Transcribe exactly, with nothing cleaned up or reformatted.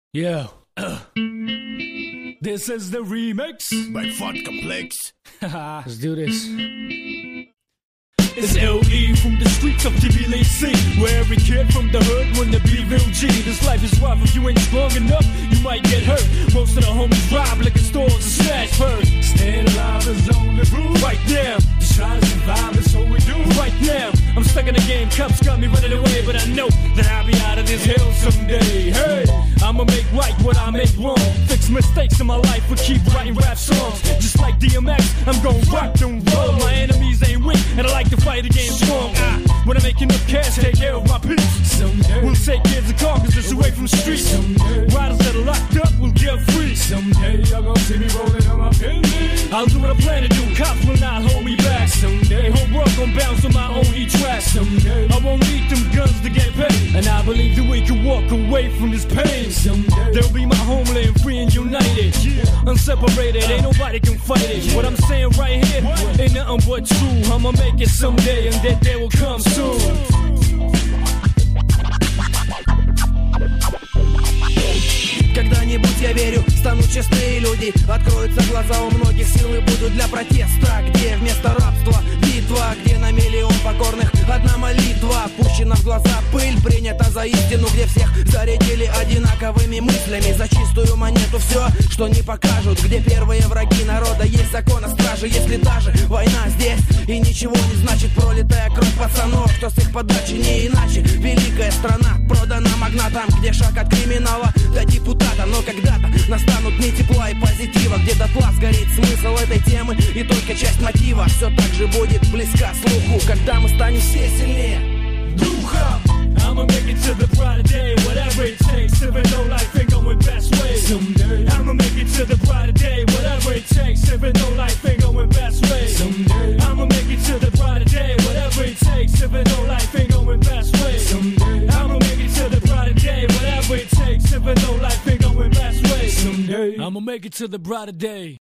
Yeah. This is the remix by Fat Complex. Let's do this. It's L E from the streets of T B L C, where every kid from the hood wanna be real G. This life is rough, if you ain't strong enough, you might get hurt. Most of the homies rob liquor stores and smash first. Staying alive is the only rule. Right now, just try to survive, that's all we do. Right now, I'm stuck in the game, cups got me running away, but I know that I'll be out of this hell someday. Hey, I'ma make right what I make wrong. Fix mistakes in my life, but keep writing rap songs. Just like D M X, I'm gon' rock them roll. My enemies ain't weak, and I like to fight the game strong. I, when I make enough cash, take care of my peace. Someday we'll take kids and carcasses away from the streets. Someday riders that are locked up will get free. Someday y'all gon' see me rolling on my penny. I'll do what I plan to do, cops will not hold me back. Someday whole world gon' bounce on my own heat track. Someday I won't need them guns to get paid, and I believe that we can walk away from this pain. Someday they'll be my homeland, free and united, yeah. Unseparated, ain't nobody can fight it. Yeah. What I'm saying right here what? Ain't nothing but true. I'ma make it someday, and that day will come soon. Когда-нибудь, я верю, станут честные люди. Откроются глаза у многих, силы будут для протеста. Где вместо рабства битва, где на миллион покорных одна молитва. Пущена в глаза пыль, принята за истину. Где всех зарядили одинаковыми мыслями. За чистую монету все, что не покажут. Где первые враги народа, есть закон о страже. Если даже война здесь и ничего не значит, пролитая кровь пацанов, кто с их подачи не иначе. Великая страна продана магнатам, где шаг от криминала до депутата. Но когда-то настанут дни тепла и позитива, где дотла сгорит смысл этой темы, и только часть мотива все так же будет близка слуху, когда мы станем все сильнее духом. I'ma make it to the brighter day, whatever it takes, even though life ain't going best way. Someday I'ma make it to the brighter day, whatever it takes, even though life ain't going best way. Someday I'ma make it to the brighter day, whatever it takes, even though life ain't going best way. Someday I'ma make it to the brighter day, whatever it takes, even though life ain't going best way. Someday I'ma make it to the brighter day.